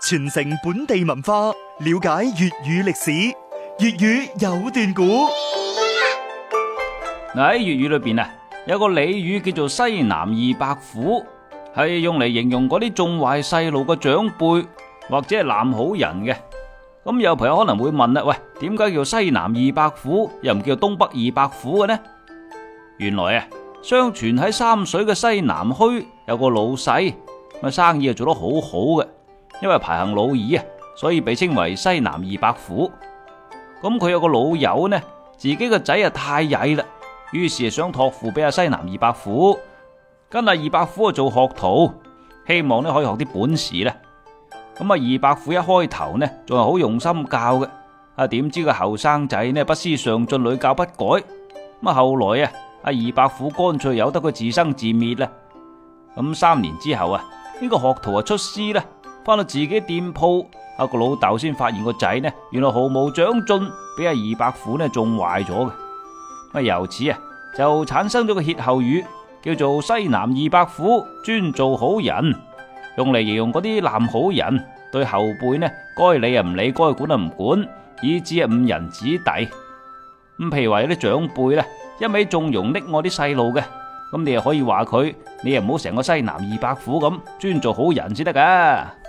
傳承本地文化，了解粵語歷史。粵語有段古。 喺粵語裏邊啊，有個俚語叫做西南二白虎，係用嚟形容嗰啲縱壞細路嘅長輩或者係濫好人嘅。咁有朋友可能會問啦，喂，點解叫西南二白虎，又唔叫東北二白虎嘅呢？原來啊，相傳喺三水嘅西南墟有個老細，咁生意做得好好嘅，因為排行老二啊，所以被稱為西南二白虎。咁佢有個老友呢，自己個仔啊太曳啦，於是想託付俾阿西南二白虎，跟阿二白虎做學徒，希望呢可以學啲本事咧。咁啊，二白虎一開頭呢仲係好用心教嘅，點知個後生仔呢不思上進，屢教不改。咁後來啊，阿二白虎乾脆由得佢自生自滅啦。咁3年之後啊，呢個學徒出師啦，翻到自己店鋪，個老豆先發現個仔呢原來毫無長進，俾阿二白虎呢縱壞咗嘅。由此啊就產生咗個歇後語，叫做西南二白虎，專做好人，用嚟形容嗰啲濫好人，對後輩呢該理唔理，該管唔管，以致誤人子弟。咁譬如話有啲長輩呢一味縱容溺愛啲細路嘅，咁你又可以話佢，你又唔好成個西南二白虎咁，專做好人先得噶。